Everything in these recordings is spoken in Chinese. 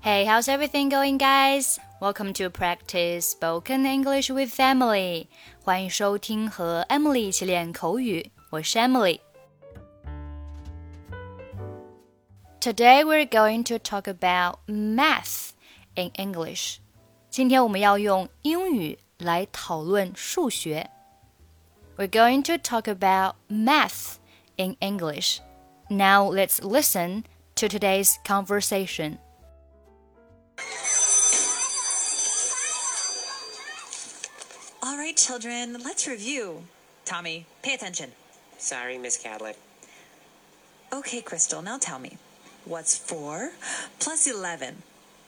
Hey, how's everything going, guys? Welcome to practice spoken English with Emily. 欢迎收听和 Emily 一起练口语，我是 Emily. Today we're going to talk about math in English. 今天我们要用英语来讨论数学。We're going to talk about math in English. Now let's listen to today's conversation.All right, children, let's review. Tommy, pay attention. Sorry, Miss Cadlick. Okay, Crystal, now tell me. What's 4 plus 11?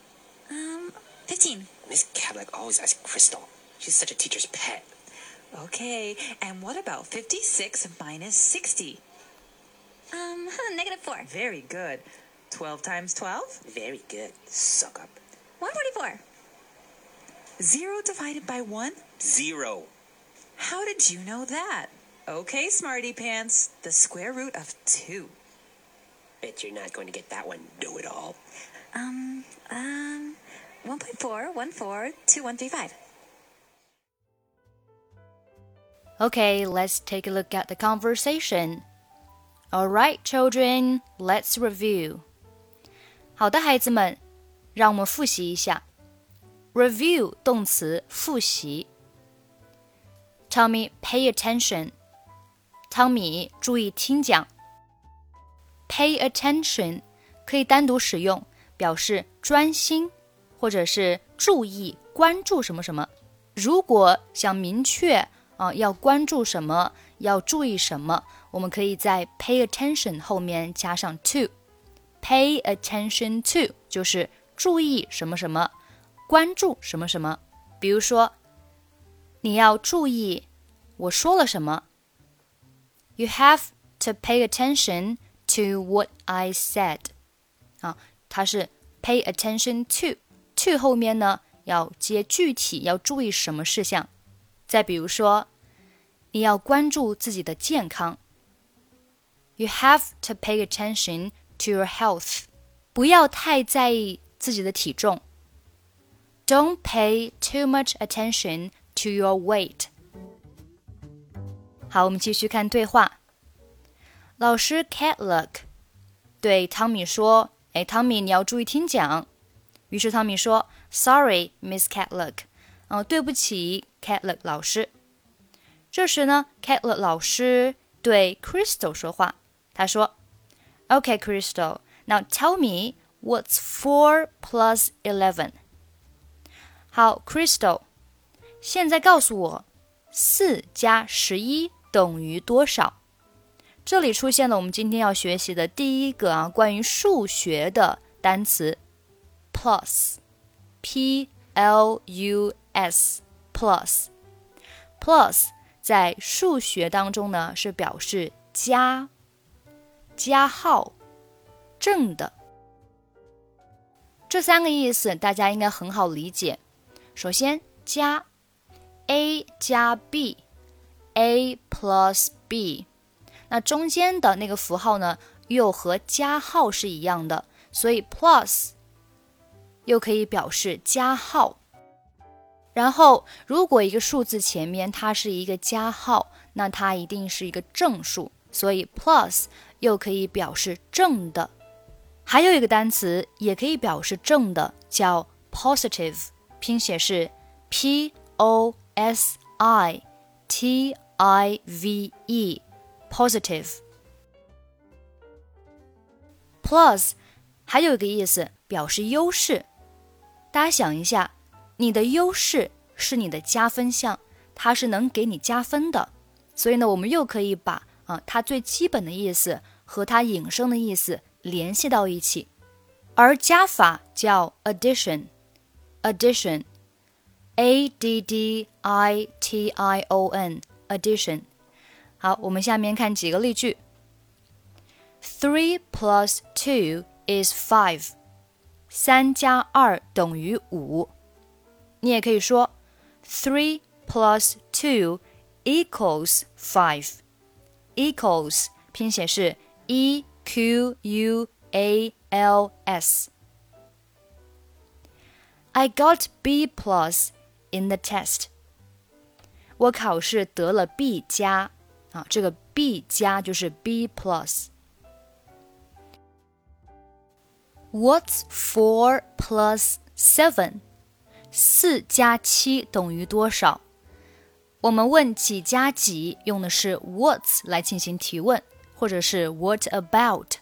15. Miss Cadlick always asks Crystal. She's such a teacher's pet. Okay, and what about 56 minus 60? Negative 4. Very good. 12 times 12? Very good. Suck up. 144. 0 divided by 1? 0. How did you know that? Okay, smarty pants. The square root of 2. Bet you're not going to get that one, know-it-all. 1.4142135. Okay, let's take a look at the conversation. All right, children, let's review. 好的，孩子们，让我们复习一下。Review 动词复习。Tommy, pay attention. 汤米，注意听讲。Pay attention 可以单独使用，表示专心，或者是注意、关注什么什么。如果想明确要关注什么，要注意什么，我们可以在 pay attention 后面加上 to。Pay attention to 就是注意什么什么，关注什么什么。比如说，你要注意我说了什么。You have to pay attention to what I said. 它是 pay attention to 后面呢要接具体，要注意什么事项。再比如说，你要关注自己的健康。You have to pay attention to your health. 不要太在意自己的体重。Don't pay too much attention to your weight. 好，我们继续看对话。老师 Cadlick 对汤米说，汤米，你要注意听讲。于是汤米说 Sorry, Miss Cadlick. 对不起 Cadlick 老师。这时呢 Cadlick 老师对 Crystal 说话，他说 Okay, Crystal, now tell me what's 4 plus 11. 好 Crystal, 现在告诉我4加11等于多少？这里出现了我们今天要学习的第一个关于数学的单词 plus, P-L-U-S, plus. Plus 在数学当中呢是表示加、加号、正的。这三个意思大家应该很好理解。首先加 A 加 B, A plus B， 那中间的那个符号呢又和加号是一样的，所以 plus 又可以表示加号。然后如果一个数字前面它是一个加号，那它一定是一个正数，所以 plus 又可以表示正的。还有一个单词也可以表示正的，叫 positive， 拼写是 P-O-S-I-T-I-V-E, positive. Plus 还有一个意思表示优势。大家想一下，你的优势是你的加分项，它是能给你加分的。所以呢，我们又可以把它最基本的意思和它引申的意思联系到一起。而加法叫 addition, A-D-D-I-T-I-O-N, addition. 好，我们下面看几个例句。3 plus 2 is 5. 3加2等于5。你也可以说3 plus 2 equals 5. Equals 拼写是 E-Q-U-A-L-S. I got B plus in the test. 我考试得了 B 加啊，这个 B 加就是 B plus。What's 4 plus 7? 4加7等于多少？我们问几加几用的是 what's 来进行提问，或者是 what about。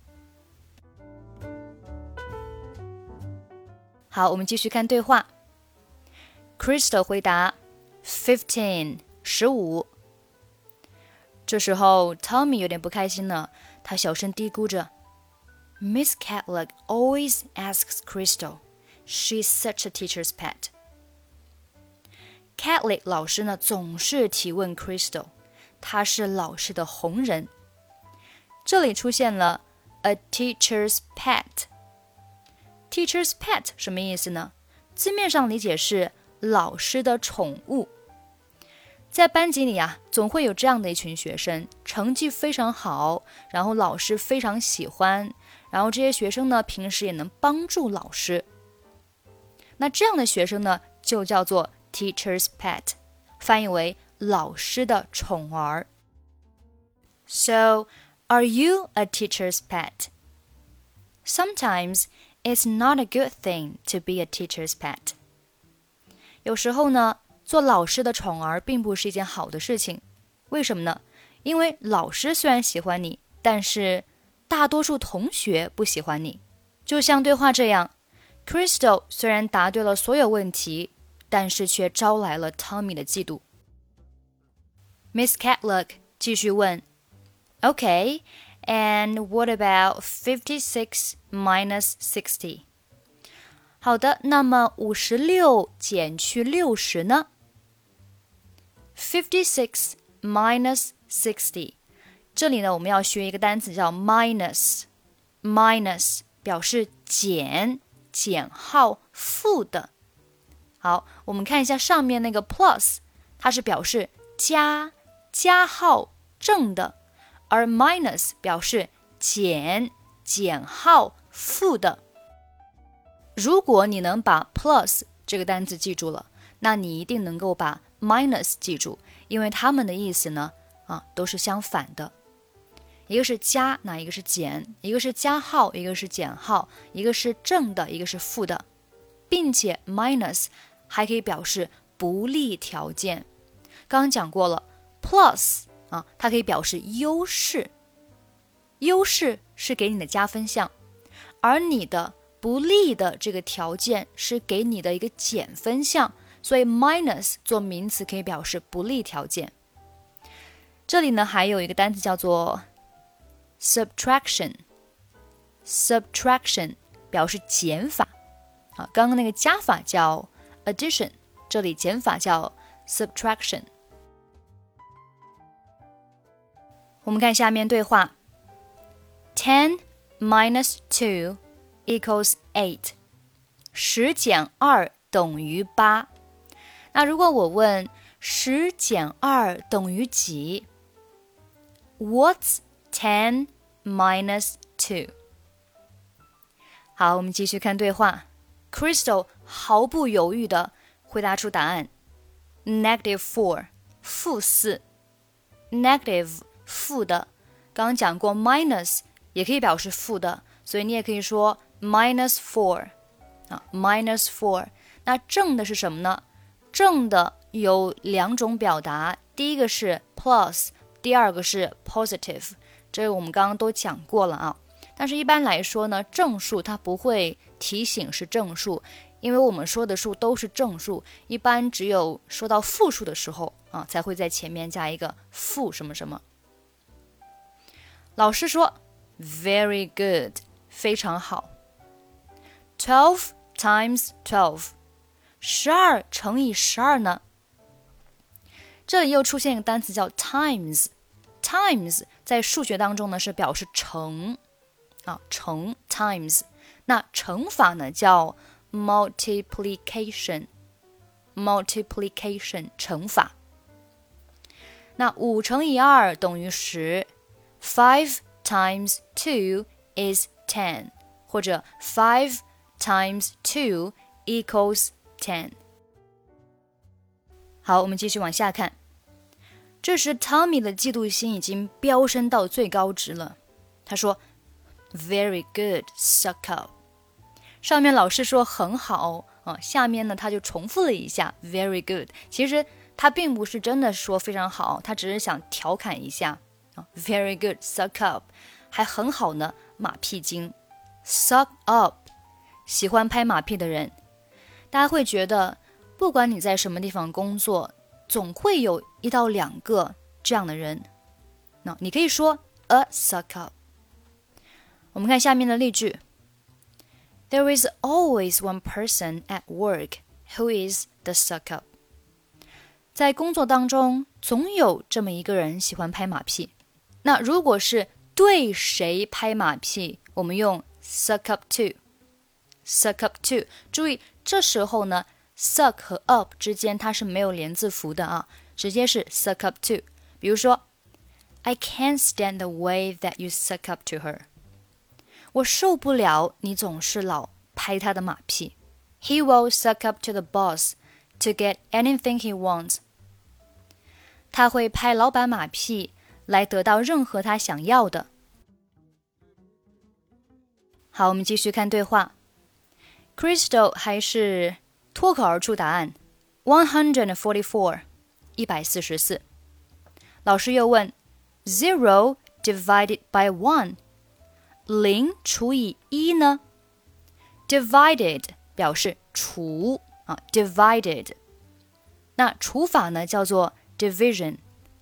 好，我们继续看对话。 Crystal 回答 15 15。这时候 Tommy 有点不开心了，他小声嘀咕着 Miss Catlock always asks Crystal. She's such a teacher's pet. Catlock 老师呢总是提问 Crystal， 她是老师的红人。这里出现了 a teacher's pet。 Teacher's pet 什么意思呢？字面上理解是老师的宠物。在班级里啊，总会有这样的一群学生，成绩非常好，然后老师非常喜欢，然后这些学生呢，平时也能帮助老师。那这样的学生呢，就叫做 teacher's pet， 翻译为老师的宠儿。So, are you a teacher's pet? Sometimes, it's not a good thing to be a teacher's pet. 有时候呢，做老师的宠儿并不是一件好的事情。为什么呢？因为老师虽然喜欢你，但是大多数同学不喜欢你。就像对话这样， Crystal 虽然答对了所有问题，但是却招来了 Tommy 的嫉妒。 Miss Catlock 继续问 Okay, and what about 56 minus 60? 好的，那么56减去60呢？ 56 minus 60， 这里呢我们要学一个单词叫 minus。 minus 表示减、减号、负的。好，我们看一下上面那个 plus， 它是表示加、加号、正的，而 minus 表示减、减号、负的。如果你能把 plus 这个单词记住了，那你一定能够把 minus 记住，因为它们的意思呢，都是相反的。一个是加，那一个是减，一个是加号，一个是减号，一个是正的，一个是负的，并且 minus 还可以表示不利条件。刚刚讲过了 plus 它可以表示优势，优势是给你的加分项，而你的不利的这个条件是给你的一个减分项，所以 minus 做名词可以表示不利条件。这里呢还有一个单词叫做 subtraction， subtraction 表示减法刚刚那个加法叫 addition， 这里减法叫 subtraction。 我们看下面对话 10 minus 2 equals 8， 10减2等于8。那如果我问10减2等于几？ What's 10 minus 2? 好，我们继续看对话。 Crystal 毫不犹豫地回答出答案 -4 负4。 negative 负的，刚刚讲过 minus 也可以表示负的，所以你也可以说 -4 -4。 那正的是什么呢？正的有两种表达，第一个是 plus， 第二个是 positive， 这个我们刚刚都讲过了但是一般来说呢，正数它不会提醒是正数，因为我们说的数都是正数，一般只有说到负数的时候才会在前面加一个负什么什么。老师说 Very good， 非常好。 12 times 12， 12乘以12呢？这里又出现一个单词叫 times， times 在数学当中呢是表示乘乘 times， 那乘法呢叫 multiplication， multiplication 乘法。那5乘以2等于10， 5 times 2 is 10， 或者5 times 2 equals 10。好，我们继续往下看。这时 Tommy 的嫉妒心已经飙升到最高值了。他说 Very good, suck up。 上面老师说很好下面呢他就重复了一下 Very good。 其实他并不是真的说非常好，他只是想调侃一下Very good, suck up， 还很好呢，马屁精。 Suck up， 喜欢拍马屁的人。大家会觉得不管你在什么地方工作，总会有1到2个这样的人。你可以说 a suck up。 我们看下面的例句。 There is always one person at work who is the suck up。 在工作当中总有这么一个人喜欢拍马屁。那如果是对谁拍马屁，我们用 suck up to。 suck up to， 注意这时候呢suck 和 up 之间它是没有连字符的直接是 suck up to。 比如说 I can't stand the way that you suck up to her。 我受不了你总是老拍他的马屁。 He will suck up to the boss to get anything he wants。 他会拍老板马屁来得到任何他想要的。好，我们继续看对话。 Crystal 还是脱口而出答案 144， 144。老师又问 Zero divided by 1， 0除以1呢？ Divided 表示除divided。 那除法呢叫做 division。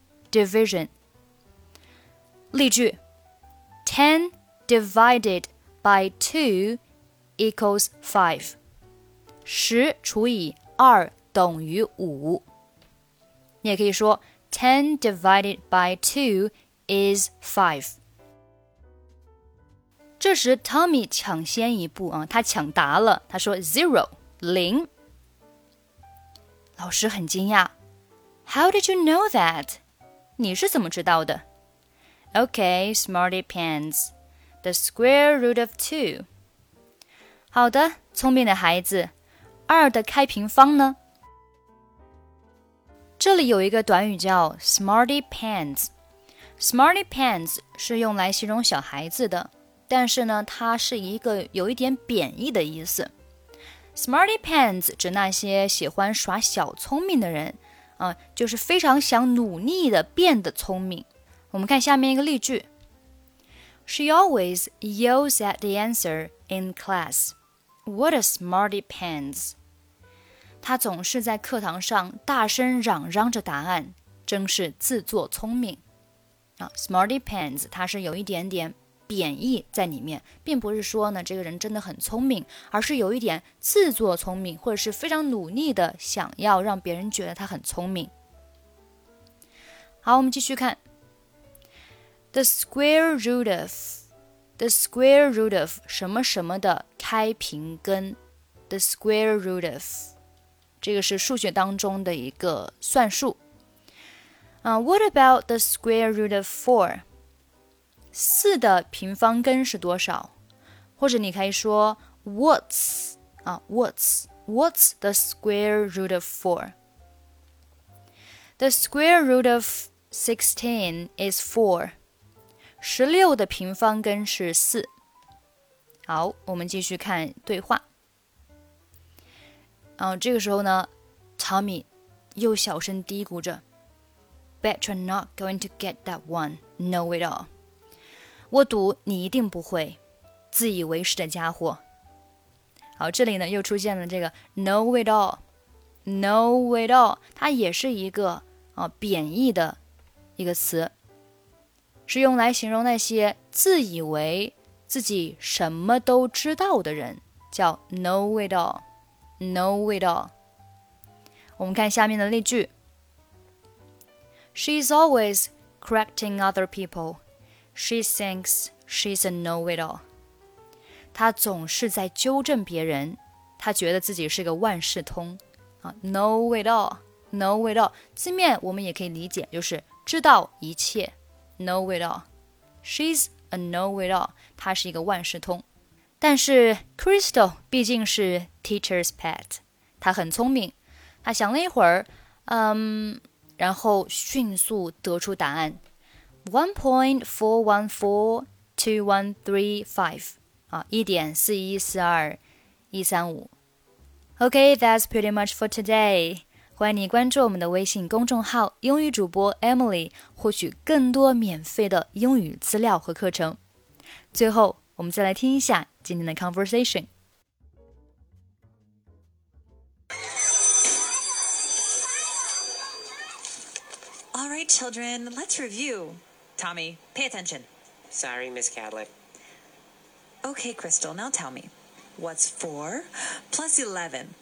例句 10 divided by 2 equals 5。 10除以2等于5。你也可以说10 divided by 2 is 5。 这时 Tommy 抢先一步他抢答了，他说 0， 0。老师很惊讶 How did you know that？ 你是怎么知道的？ Okay, smarty pants. The square root of 2。 好的，聪明的孩子，2的开平方呢？这里有一个短语叫 smarty pants。Smarty pants 是用来形容小孩子的，但是呢，它是一个有一点贬义的意思。Smarty pants 指那些喜欢耍小聪明的人就是非常想努力的变得聪明。我们看下面一个例句 She always yells at the answer in class. What a smarty pants. 她总是在课堂上大声嚷嚷着答案，真是自作聪明。Smarty pants 它是有一点点贬义在里面，并不是说呢这个人真的很聪明，而是有一点自作聪明，或者是非常努力的想要让别人觉得他很聪明。好，我们继续看 The square root of 什么什么的开平根 The square root of 这个是数学当中的一个算术。What about the square root of 4？ 4的平方根是多少？或者你可以说 What's the square root of 4？ The square root of 16 is 4。 16的平方根是4。好，我们继续看对话。这个时候呢 Tommy 又小声嘀咕着 Bet you're not going to get that one, know it all。 我赌你一定不会，自以为是的家伙。好，这里呢又出现了这个 know it all。know it all 它也是一个贬义的一个词，是用来形容那些自以为自己什么都知道的人，叫 know it all。know it all。 我们看下面的例句 She's always correcting other people. She thinks she's a know-it-all. 她总是在纠正别人，她觉得自己是个万事通。know-it-all know-it-all 字面我们也可以理解就是知道一切 know-it-all。 She's a know-it-all 她是一个万事通。 但是 Crystal 毕竟是 teacher's pet， 她很聪明，她想了一会儿，然后迅速得出答案 1.4142135 啊1.4142135。Okay, that's pretty much for today. 欢迎你关注我们的微信公众号英语主播 Emily， 获取更多免费的英语资料和课程。最后，我们再来听一下今天的 conversation。 All right, children, let's review. Tommy, pay attention. Sorry, Miss Cadlick. Okay, Crystal, now tell me. What's 4 plus 11?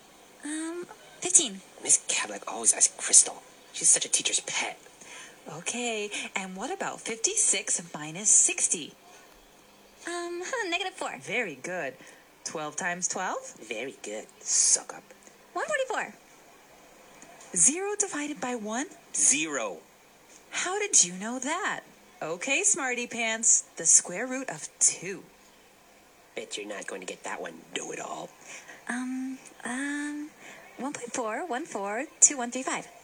15. Miss Cadlick always asks Crystal. She's such a teacher's pet. Okay, and what about 56 minus 60? Negative 4. Very good. 12 times 12? Very good. Suck up. 144. 0 divided by 1? 0. How did you know that? Okay, smarty pants, the square root of 2. Bet you're not going to get that one, know-it-all. 1.4142135.